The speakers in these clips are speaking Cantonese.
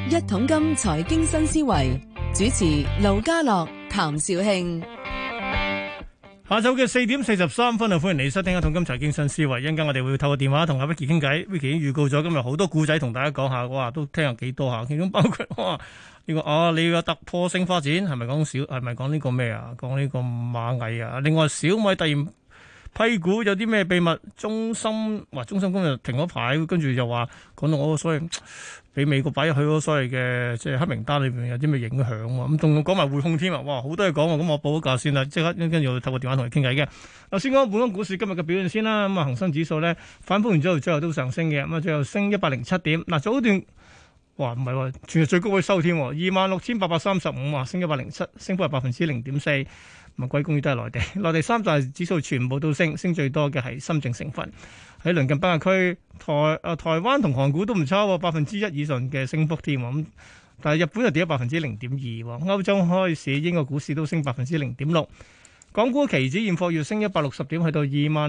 一桶金財經新思維，主持盧家樂、譚紹興。 下晝嘅4:43啊，歡迎你收聽一桶金財經新思維。一陣間我哋會透過電話同阿 Vicky 傾偈。Vicky 已經預告咗今日好多故仔同大家講下，哇，都聽下幾多下，其中包括哇呢個你個突破性發展係咪講係咪講呢個咩啊？講呢個螞蟻啊？另外小米突然批股有啲咩秘密？中芯今日停咗牌，跟住又話講到我所謂俾美國擺入去嗰所謂嘅即係黑名單裏邊有啲咩影響喎？咁仲講埋匯控添啊！哇，好多嘢講喎！咁我報咗價先啦，即刻跟住透過電話同你傾偈嘅。嗱，先講本港股市今日嘅表現先啦。咁啊，恒生指數咧反覆完之後，最後都上升嘅。咁啊，最後升107點。嗱，早段哇唔係喎，全日最高位收添，26,835啊，升107，升幅係0.4%。咁啊，歸功於都係內地，內地三大指數全部都升，升最多嘅係深證成分。喺鄰近北亞區，台灣同韓股都唔差喎，1%以上嘅升幅添。咁但係日本就跌咗0.2%。歐洲開市，英國股市都升0.6%。港股期指現貨月升160點，去到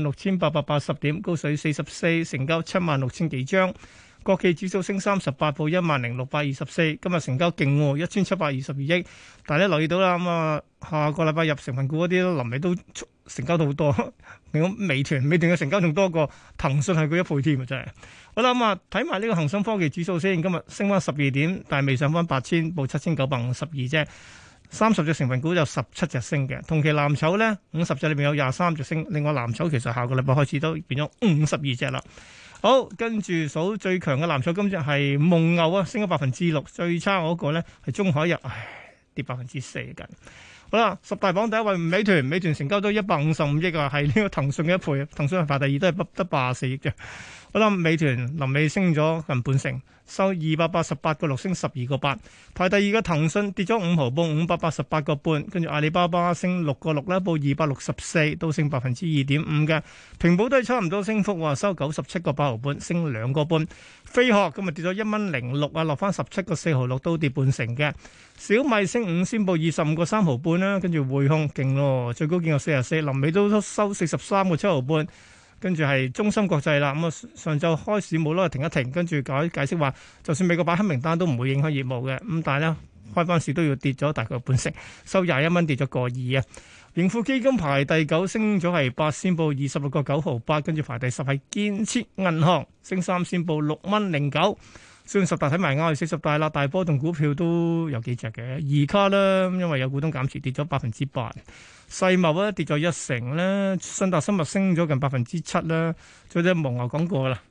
26,880點，高水44，成交76,000幾張。國企指數升38，報10,624。今日成交勁喎，1,722億。但係咧留意到啦，咁啊下個禮拜入成分股嗰啲臨尾都成交到好多。你講美團嘅成交仲多過騰訊係佢1倍添啊！真係。好啦，咁啊睇埋呢個恒生科技指數先，今日升翻12點，但係未上翻8,000，報7,952啫。30隻成分股有17隻升嘅，同期藍籌咧50隻裏面有23隻升。另外藍籌其實下個禮拜開始都變咗52隻啦。好，跟住數最強嘅藍籌，今日係蒙牛啊，升咗6%，最差嗰個咧係中海油，跌4%近。好啦，十大榜第一位美團成交都155億啊，係呢個騰訊嘅1倍，騰訊係排第二，都係得84億啫。好啦，美團臨尾升咗近半成，收288.6，升12.8。排第二嘅騰訊跌咗5毫，報588.8，跟住阿里巴巴升6.6啦，報264，都升2.5%嘅。平保都係差唔多升幅，收97.8毫半，升2.5%。飛鶴今日跌咗1.06蚊啊，落翻17.4毫六，都跌半成嘅。小米升5先，報25.3毫半啦，跟住匯控勁咯，最高見過44，臨尾都收43.7毫半。跟住係中芯國際啦，咁啊上晝開市冇咯，停一停，跟住解釋話，就算美國擺黑名單都唔會影響業務嘅，咁但係咧開翻市都要跌咗大概半成，收21蚊，跌咗1.2啊。盈富基金排第9，升咗係8先，報26.9毫8，跟住排第10係建設銀行，升3先，報6.09。雖然十大睇埋啱，40大啦，大波動股票都有幾隻嘅，二卡啦，因為有股東減持跌咗8%，世茂咧跌咗1成咧，信達生物升咗近7%啦，仲有隻蒙牛講過啦。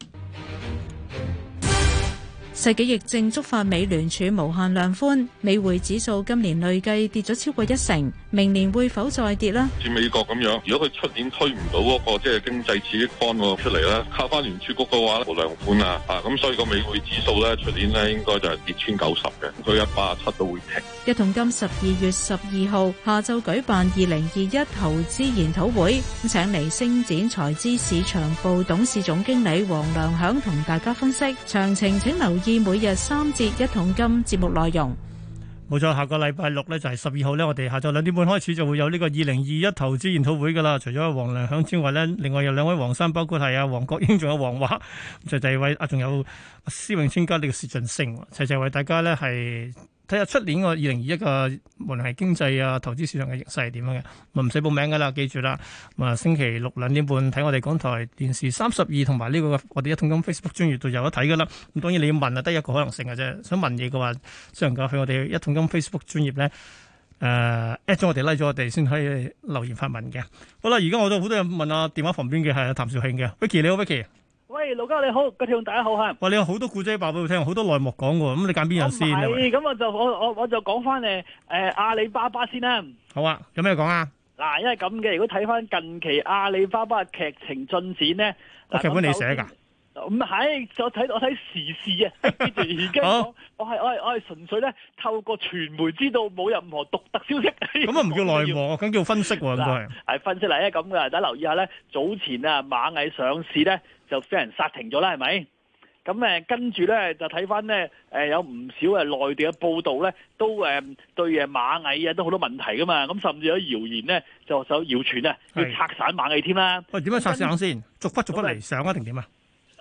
世紀疫症觸發美聯儲無限量寬，美匯指數今年累計跌咗超過1成，明年會否再跌呢？ 似美國咁樣，如果佢出年推唔到嗰個即係經濟刺激方案出嚟咧，靠翻聯儲局嘅話無量寬啊，咁所以個美匯指數咧出年咧應該就係跌穿90嘅，佢187都會停。 一桶金12月12號下晝舉辦2021投資研討會，請嚟星展財資市場部董事總經理黃良響同大家分析詳情，請留意每日3節一桶金節目內容。 冇錯，下個禮拜六咧就係12號咧，我哋下晝2點半開始就會有呢個2021投資研討會噶啦。除咗黃良響之外咧，另外有2位黃生，包括係阿黃國英，仲有黃華，就第2位仲有施永青加呢個薛俊升，齊為大家咧係睇下出年個2021嘅無論係經濟啊、投資市場嘅形勢係點樣嘅，唔使報名噶啦，記住啦。星期六2點半睇我哋港台電視32同埋呢個我哋一桶金 Facebook 專頁度有得睇噶啦。咁當然你要問啊，得一個可能性嘅啫。想問嘢嘅話，只能夠去我哋一桶金 Facebook 專頁咧，at 咗我哋 like 咗我哋先可以留言發問嘅。好啦，而家我都好多人問啊，電話旁邊嘅係譚紹興嘅 Vicky， 你好 Vicky。 喂，盧家你好，各位聽眾大家好嚇。 哇，你有好多故仔爆俾我聽，好多內幕講喎，咁你揀邊樣先？ 咁我就講翻阿里巴巴先啦。 好啊，有咩講啊？嗱， 因為咁嘅，如果睇翻近期阿里巴巴嘅劇情進展咧， 個劇本你寫㗎？ 唔係，我睇時事啊，跟住而家我係純粹咧透過傳媒知道，冇任何獨特消息。 咁啊唔叫內幕，咁叫分析喎，應該係分析嚟咧咁嘅，大家留意下咧，早前啊螞蟻上市咧就俾人殺停咗啦，係咪？咁跟住咧就睇翻咧有唔少內地嘅報道咧，都對螞蟻啊都好多問題噶嘛，咁甚至有謠言咧就謠傳啊要拆散螞蟻添啦。 喂，點樣拆散先？逐忽嚟上啊定點啊？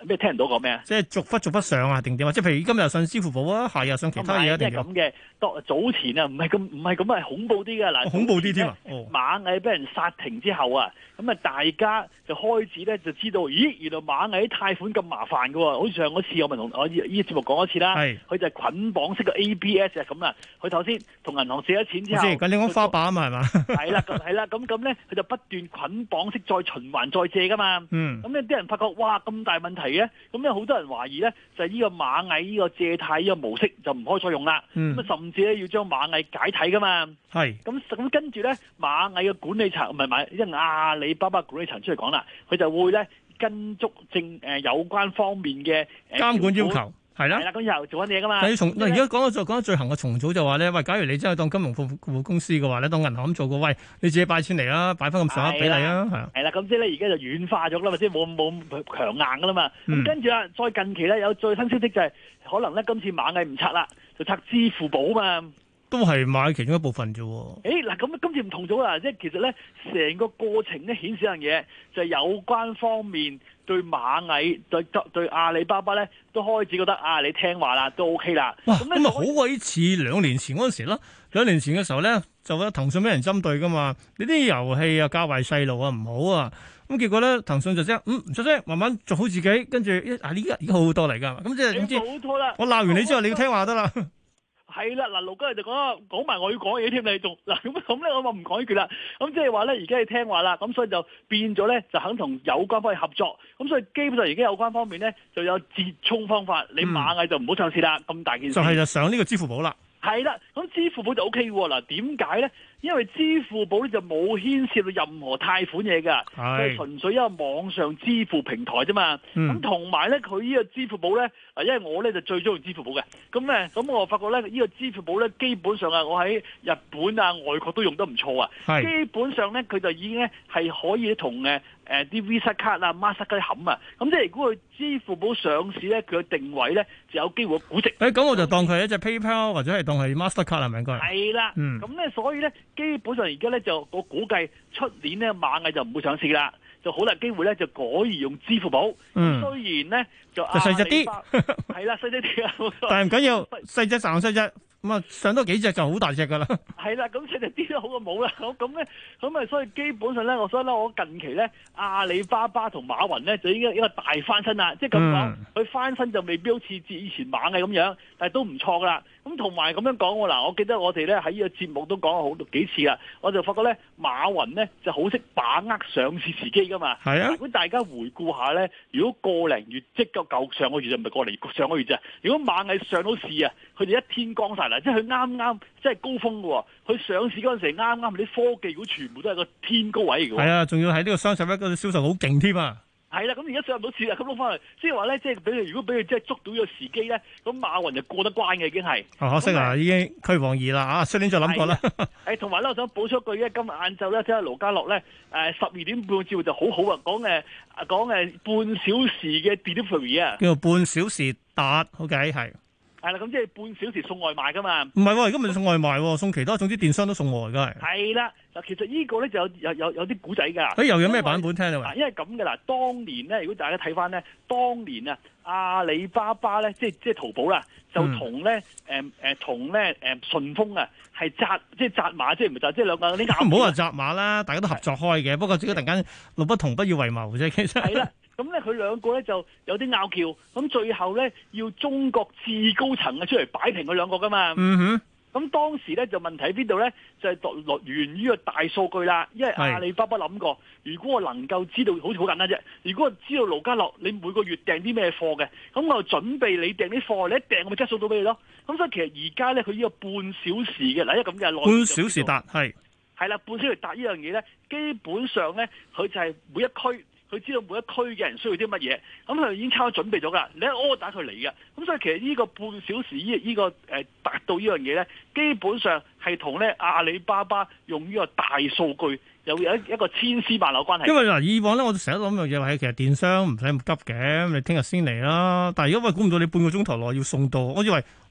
咩聽唔到講咩啊？ 即係逐忽上啊，定點啊？即係譬如今日又上支付寶啊，下日上其他嘢一定咁嘅。早前啊，唔係咁係恐怖啲嘅嗱， 恐怖啲添啊！ 螞蟻俾人殺停之後啊，咁啊大家就開始咧就知道，咦，原來螞蟻貸款咁麻煩㗎喎。好似上嗰次我咪同我呢個節目講一次啦，佢就係捆綁式嘅 ABS 啊咁啊。佢頭先同銀行借咗錢之後， 咁你講花唄啊嘛係嘛？ 係啦，咁咧佢就不斷捆綁式再循環再借㗎嘛。咁咧啲人發覺哇咁大問題嘅，咁咧好多人懷疑咧就係呢個螞蟻呢個借貸呢個模式就唔可以再用啦。咁甚至咧要將螞蟻解體㗎嘛。咁跟住咧螞蟻嘅管理層唔係因為阿里巴巴管理層出嚟講啦，佢就會咧跟足有關方面嘅監管要求。係啦， 咁又做緊嘢噶嘛？ 而家講到罪行嘅重組就話咧，喂，假如你真係當金融服務公司嘅話咧，當銀行咁做嘅，喂，你自己擺錢嚟啦，擺翻咁上下比例啊， 係啦，咁即係咧而家就軟化咗啦嘛，即係冇咁強硬噶啦嘛。咁跟住啦，再近期咧有最新消息就係可能咧今次螞蟻唔拆啦，就拆支付寶啊嘛。 都係買其中一部分啫。 嗱，咁今次唔同咗啦，即係其實咧成個過程咧顯示一樣嘢，就係有關方面對螞蟻對阿里巴巴咧都開始覺得啊，你聽話啦，都 OK 啦。 哇，咁啊好鬼似2年前嗰陣時咯。2年前嘅時候咧，就覺得騰訊俾人針對噶嘛，你啲遊戲啊教壞細路啊唔好啊。咁結果咧，騰訊就即係唔出聲，慢慢做好自己，跟住而家好好多嚟㗎。咁即係點知？我鬧完你之後，你要聽話得啦。 係啦，嗱，盧家就講埋我要講嘢添，你仲嗱咁咧，我話唔講呢句啦。咁即係話咧，而家你聽話啦，咁所以就變咗咧，就肯同有關方面合作。咁所以基本上而家有關方面咧，就有折衷方法。你螞蟻就唔好上市啦，咁大件事。 就上呢個支付寶啦。 係啦，咁支付寶就 O K 喎。嗱，點解咧？因為支付寶咧就冇牽涉到任何貸款嘢㗎，佢係純粹一個網上支付平台啫嘛。咁同埋咧，佢呢個支付寶咧，因為我咧就最中意支付寶嘅。咁我發覺咧，呢個支付寶咧，基本上啊，我喺日本啊、外國都用得唔錯啊。基本上咧，佢就已經咧係可以同啲 Visa 卡啊、Master 卡冚啊。咁即係如果佢支付寶上市咧，佢嘅定位咧就有機會估值。 咁我就當佢係一隻 PayPal 或者係當係 Master 卡係咪應該？係啦。咁咧，所以咧。基本上而家咧就我估計出年咧螞蟻就唔會上市啦，就好大機會咧就改而用支付寶。雖然咧就細隻啲，係啦細隻啲啊， 但係唔緊要，細隻賺細隻。咁啊，上多幾隻就好大隻噶啦。 係啦，咁細隻啲都好過冇啦。咁啊，所以基本上咧，我近期咧，阿里巴巴同馬雲咧就已經一個大翻身啦。即係咁講，佢翻身就未必好似以前螞蟻咁樣，但係都唔錯噶啦。咁同埋咁樣講喎，嗱，我記得我哋咧喺呢個節目都講過好幾次啦。我就發覺咧，馬雲咧就好識把握上市時機噶嘛。係啊。如果大家回顧下咧，如果個零月即夠上個月就唔係個零上個月啫。如果螞蟻上到市啊，佢哋一天光晒。即係佢啱即係高峰嘅喎，佢上市嗰陣時啱啲科技股全部都係個天高位嘅喎。係啊， 仲要喺呢個雙十一嗰個銷售好勁添啊！ 係啦，咁而家上唔到市啦，咁攞翻嚟，即係話咧，即係如果俾佢即係捉到呢個時機咧，咁馬雲就過得關嘅已經係。可惜啊， 已經俱往矣啦啊！出年再諗過啦。 同埋咧，我想補充一句咧，今日晏晝咧，睇下盧家樂咧，12點半嘅節目就好好啊，講半小時嘅 delivery 啊， 叫做半小時達，OK 係。 係啦，咁即係半小時送外賣噶嘛？ 唔係喎，而家唔係送外賣喎，送其他，總之電商都送外㗎係。 係啦，嗱，其實呢個咧就有啲古仔㗎。 又有咩版本聽啊？ 因為咁嘅啦，當年咧，如果大家睇翻咧，當年啊，阿里巴巴咧，即係淘寶啦，就同咧順豐啊，係紮馬，即係唔係紮，即係兩個啲咬。唔好話紮馬啦，大家都合作開嘅，不過自己突然間路不同不以為謀啫，其實。係啦。咁咧，佢兩個咧就有啲拗撬，咁最後咧要中國至高層出嚟擺平佢兩個噶嘛。咁當時咧就問題喺邊度咧？就係源於個大數據啦。因為阿里巴巴諗過，如果我能夠知道，好似好簡單啫。如果我知道盧家樂你每個月訂啲咩貨嘅，咁我就準備你訂啲貨，你一訂我咪即刻送到俾你咯。咁所以其實而家咧佢呢個半小時嘅嗱，因為咁嘅半小時達係啦，半小時達呢樣嘢咧，基本上咧佢就係每一區。佢知道每一區嘅人需要啲乜嘢，咁佢已經差唔多準備咗㗎。你一 order 佢嚟嘅，咁所以其實呢個半小時呢個達到呢樣嘢咧，基本上係同咧阿里巴巴用呢個大數據有一個千絲萬縷關係。因為嗱， 以往咧我成日諗樣嘢係其實電商唔使咁急嘅，你聽日先嚟啦。但係如果估唔到你半個鐘頭內要送到，我以為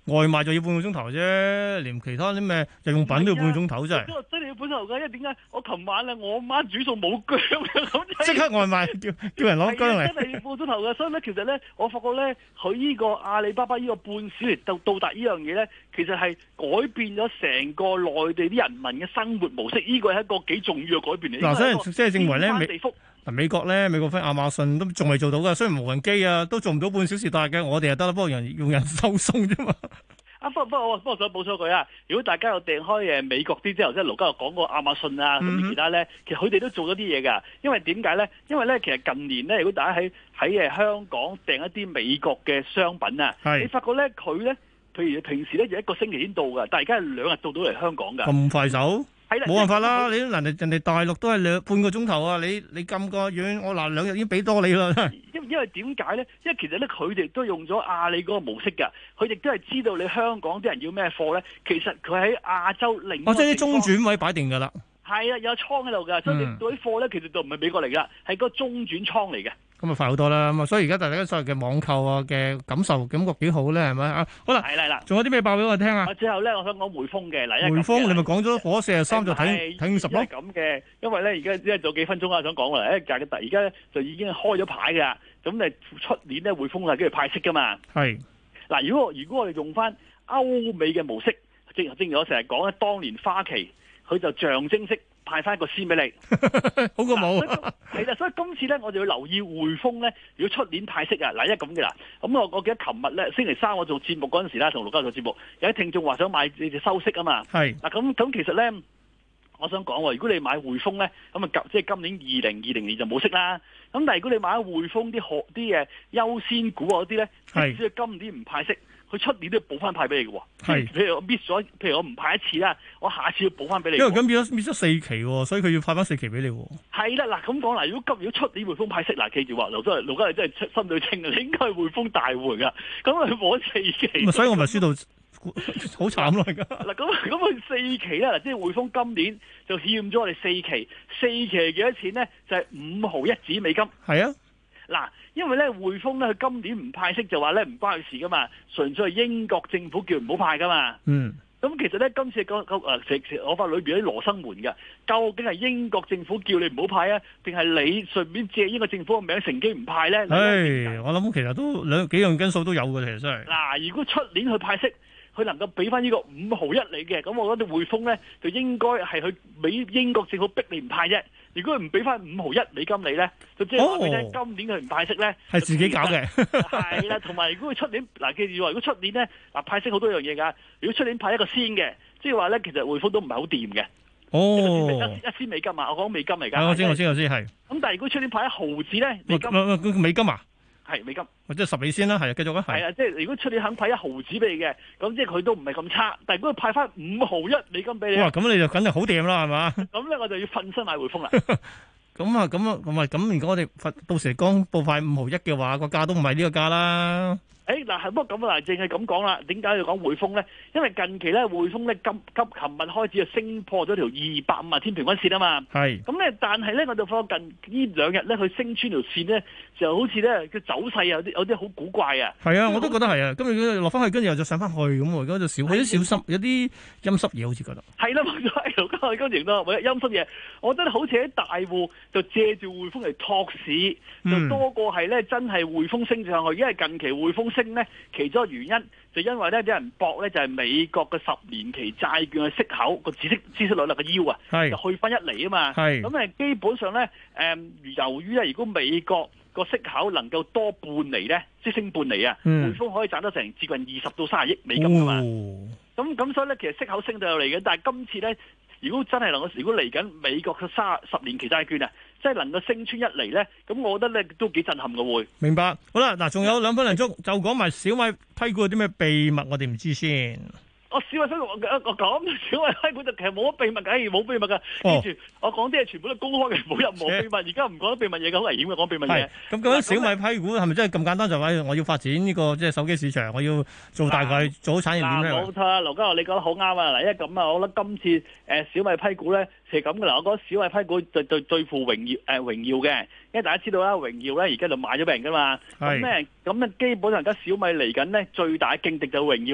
外賣就要半個鐘頭啫，連其他啲咩日用品都要半個鐘頭，真係。 真係要半個鐘頭㗎，因為點解？我琴晚咧，我媽煮餸冇薑嘅，咁即刻外賣叫人攞薑嚟。 真係要半個鐘頭嘅，所以咧，其實咧，我發覺咧，佢呢個阿里巴巴呢個半小時到達呢樣嘢咧，其實係改變咗成個內地啲人民嘅生活模式，呢個係一個幾重要嘅改變嚟。 嗱，所以即係認為咧，美國分亞馬遜都仲未做到㗎，雖然無人機啊都做唔到半小時達嘅，我哋就得啦，不過用人收送啫嘛。不過我想補充一句啊，如果大家有訂開美國啲之後，即係盧家又講過亞馬遜啊，咁其他咧，其實佢哋都做咗啲嘢㗎。因為點解咧？因為咧，其實近年咧，如果大家喺香港訂一啲美國嘅商品啊，你發覺咧佢咧，譬如平時咧就一個星期先到㗎，但係而家係2日到嚟香港㗎。咁快手？冇辦法啦！你人哋大陸都係半個鐘頭啊！你咁個遠，我嗱2日已經俾多你啦。因為點解咧？因為其實咧，佢哋都用咗阿里嗰個模式㗎。佢哋都係知道你香港啲人要咩貨咧。其實佢喺亞洲另一個地方，即係啲中轉位擺定㗎啦。係啊，有倉喺度㗎，所以你嗰啲貨咧，其實就唔係美國嚟㗎，係個中轉倉嚟嘅。咁啊快好多啦！咁啊，所以而家大家所謂嘅網購啊嘅感覺幾好咧，係咪啊？好啦，係啦，仲有啲咩爆俾我聽啊？最後咧，我想講匯豐嘅嗱，匯豐你咪講咗火43就睇50咯。咁嘅，因為咧而家仲有幾分鐘啊，想講啦，而家咧就已經開咗牌㗎，咁你出年咧匯豐係跟住派息㗎嘛。係嗱，如果我哋用翻歐美嘅模式，正如我成日講咧，當年花旗佢就象徵式派翻一個先俾你，好過冇。係啦，所以今次咧，我哋要留意匯豐咧。如果出年派息啊，嗱，因為咁嘅啦。咁我記得琴日咧，星期三我做節目嗰陣時啦，同盧家做節目，有啲聽眾話想買你哋收息啊嘛。係嗱，咁其實咧，我想講喎，如果你買匯豐咧，咁啊即係今年2020年就冇息啦。咁但係如果你買匯豐啲啲優先股嗰啲咧，即使佢今年唔派息，佢出年都要補翻派俾你嘅喎。係，譬如我 miss 咗，譬如我唔派一次啦，我下次要補翻俾你。因為咁變咗 miss 咗4期喎，所以佢要派翻4期俾你喎。係啦，嗱咁講嗱，如果出年匯豐派息，嗱記住話，盧家你真係心水清嘅，你應該係匯豐大戶㗎。咁佢補4期。所以我咪輸到好慘咯而家。嗱咁佢4期咧，嗱即係匯豐今年就欠咗我哋4期，4期係幾多錢咧？就係5毫1子美金。係啊。嗱，因為咧匯豐咧佢今年唔派息就話咧唔關佢事噶嘛，純粹係英國政府叫唔好派噶嘛。嗯。咁其實咧今次我發裏邊有啲羅生門嘅，究竟係英國政府叫你唔好派啊，定係你順便借英國政府嘅名乘機唔派咧？我諗其實都幾樣因素都有嘅，其實真係。嗱，如果出年去派息，佢能夠俾翻呢個5毫1你嘅，咁我覺得匯豐咧就應該係去俾英國政府逼你唔派啫。如果佢唔俾翻5毫1美金你咧，就即係話俾你聽，今年佢唔派息咧，係自己搞嘅。係啦，同埋如果佢出年嗱記住話，如果出年咧嗱派息好多樣嘢㗎。如果出年派一個先嘅，即係話咧其實匯豐都唔係好掂嘅。哦，一仙美金啊，我講美金嚟㗎。我知係。咁但係如果出年派1毫子咧，美金啊？係美金，即係10美仙啦，係繼續啊。係啊，即係如果出年肯派1毫子俾你嘅，咁即係佢都唔係咁差。但係如果佢派翻5毫1美金俾你，哇！咁你就梗係好掂啦，係嘛？咁咧我就要瞓身買匯豐啦。咁如果我哋到時公佈派5毫1嘅話，個價都唔係呢個價啦。嗱，不過咁啊，淨係咁講啦。點解要講匯豐咧？因為近期咧匯豐咧琴日開始就升破咗條250天平均線啊嘛。係。咁咧，但係咧我就發覺近呢2日咧佢升穿條線咧，就好似咧嘅走勢有啲好古怪啊。係啊，我都覺得係啊。今日落翻去，跟住又再上翻去咁喎。而家就少有啲小心，有啲陰濕嘢好似覺得。係啦，冇錯，盧家偉今日都陰濕嘢。我覺得好似喺大戶就借住匯豐嚟托市，就多過係咧真係匯豐升上去。因為近期匯豐升咧，其中一個原因就因為咧啲人搏咧就係美國嘅10年期債券嘅息口個孳息率啦個腰啊，就去翻1厘啊嘛。咁基本上咧由於咧如果美國個息口能夠多半厘咧，即升半厘啊，匯豐可以賺得成接近20到30億美金㗎嘛。咁所以咧其實息口升到有嚟嘅，但係今次咧如果真係如果嚟緊美國嘅10年期債券啊，即係能夠升穿1厘咧，咁我覺得咧都幾震撼嘅會。明白。好啦，嗱，仲有2分零鐘，就講埋小米批股有啲咩秘密，我哋唔知先。小米批股我講小米批股就其實冇乜秘密嘅，冇秘密㗎。記住，我講啲嘢全部都公開嘅，冇任何秘密。而家唔講得秘密嘢嘅，好危險嘅，講秘密嘢。咁究竟小米批股係咪真係咁簡單就話我要發展呢個即係手機市場，我要做大概做好產業鏈咧？冇錯啊，盧家樂你講得好啱啊！嗱，因為咁啊，我覺得今次小米批股咧係咁嘅啦。我覺得小米批股對付榮耀嘅，因為大家知道啦，榮耀咧而家就買咗俾人㗎嘛。咁咧基本上而家小米嚟緊咧最大嘅勁敵就係榮耀啦。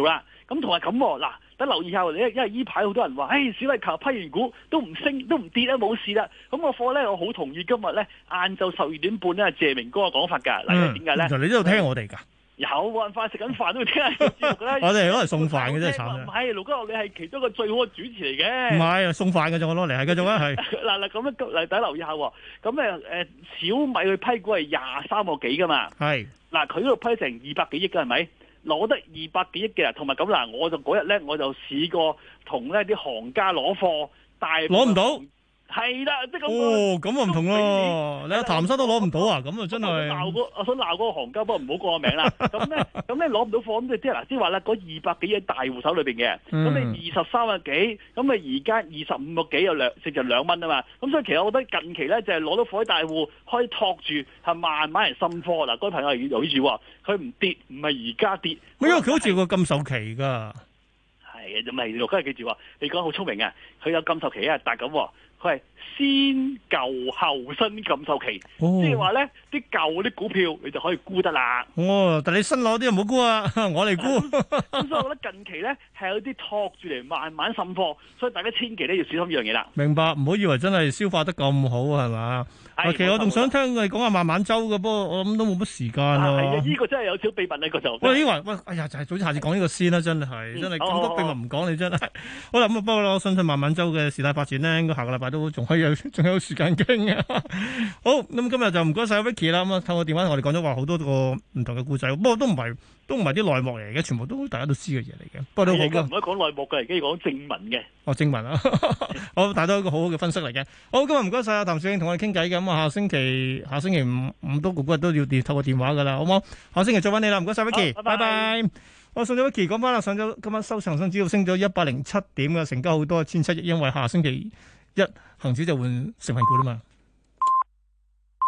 咁同埋咁嗱，等留意下喎，因為依排好多人話，小米琴日批完股都唔升都唔跌啦，冇事啦。咁個貨咧，我好同意今日咧晏晝12點半咧，謝明哥嘅講法㗎。嗱，點解咧？ 原來你都有聽我哋㗎？ 有冇人飯食緊飯都要聽下節目㗎？ 我哋攞嚟送飯嘅真係慘。 唔係，盧家樂你係其中一個最好嘅主持嚟嘅。 唔係送飯嘅啫，我攞嚟係繼續啊，係。 嗱咁樣嚟大家留意下喎。咁小米佢批股係23個幾㗎嘛？係。嗱佢嗰度批成200幾億㗎係咪？攞得200幾億嘅，同埋咁嗱，我就嗰日咧我就試過同呢啲行家攞貨，但係攞唔到。 係啦，即係咁。 哦，咁啊唔同咯，你阿譚生都攞唔到啊，咁啊真係。 我想鬧嗰個行家，不過唔好講個名啦。咁咧攞唔到貨，咁即係嗱，即係話咧嗰200幾億大戶手裏邊嘅，咁你23個幾，咁你而家25個幾有剩就2蚊啊嘛。咁所以其實我覺得近期咧就係攞到貨啲大戶可以托住，係慢慢嚟滲貨。嗱，嗰位朋友留意住喎，佢唔跌，唔係而家跌。 因為佢好似有個禁售期㗎。 係啊，咁咪大家記住喎，你講好聰明啊，佢有禁售期啊，但係咁。佢係先舊後新禁售期，即係話咧啲舊啲股票你就可以沽得啦。哦， 但你新攞啲就唔好沽啊，我嚟沽。 咁所以我覺得近期咧係有啲托住嚟慢慢滲貨，所以大家千祈咧要小心呢樣嘢啦。 明白，唔好以為真係消化得咁好係嘛？其實我仲想聽佢講下慢慢周嘅，不過我諗都冇乜時間啊。 係啊，呢個真係有少秘密呢個就。 喂，哎呀，就係早知下次講呢個先啦，真係咁多秘密唔講你真係。好啦，咁啊，不過我相信慢慢周嘅事態發展咧，應該下個禮拜都仲有時間傾啊。好，咁今日就唔該晒 Vicky 啦。咁啊，透過電話同我哋講咗話好多個唔同嘅故仔，不過都唔係啲內幕嚟嘅，全部都大家都知嘅嘢嚟嘅。不過都好嘅， 唔可以講內幕嘅，而家要講正文嘅。 哦，正文啊，好，大家都一個好好嘅分析嚟嘅。好，今日唔該晒阿譚紹興同我哋傾偈嘅。咁啊，下星期五都嗰日都要透過電話噶啦，好唔好？下星期再揾你啦，唔該晒 Vicky，拜拜。我送咗 Vicky 講翻啦，上咗今晚收恒生指數升咗107點嘅，成交好多1700億，因為下星期一恒指就換成分股啦嘛。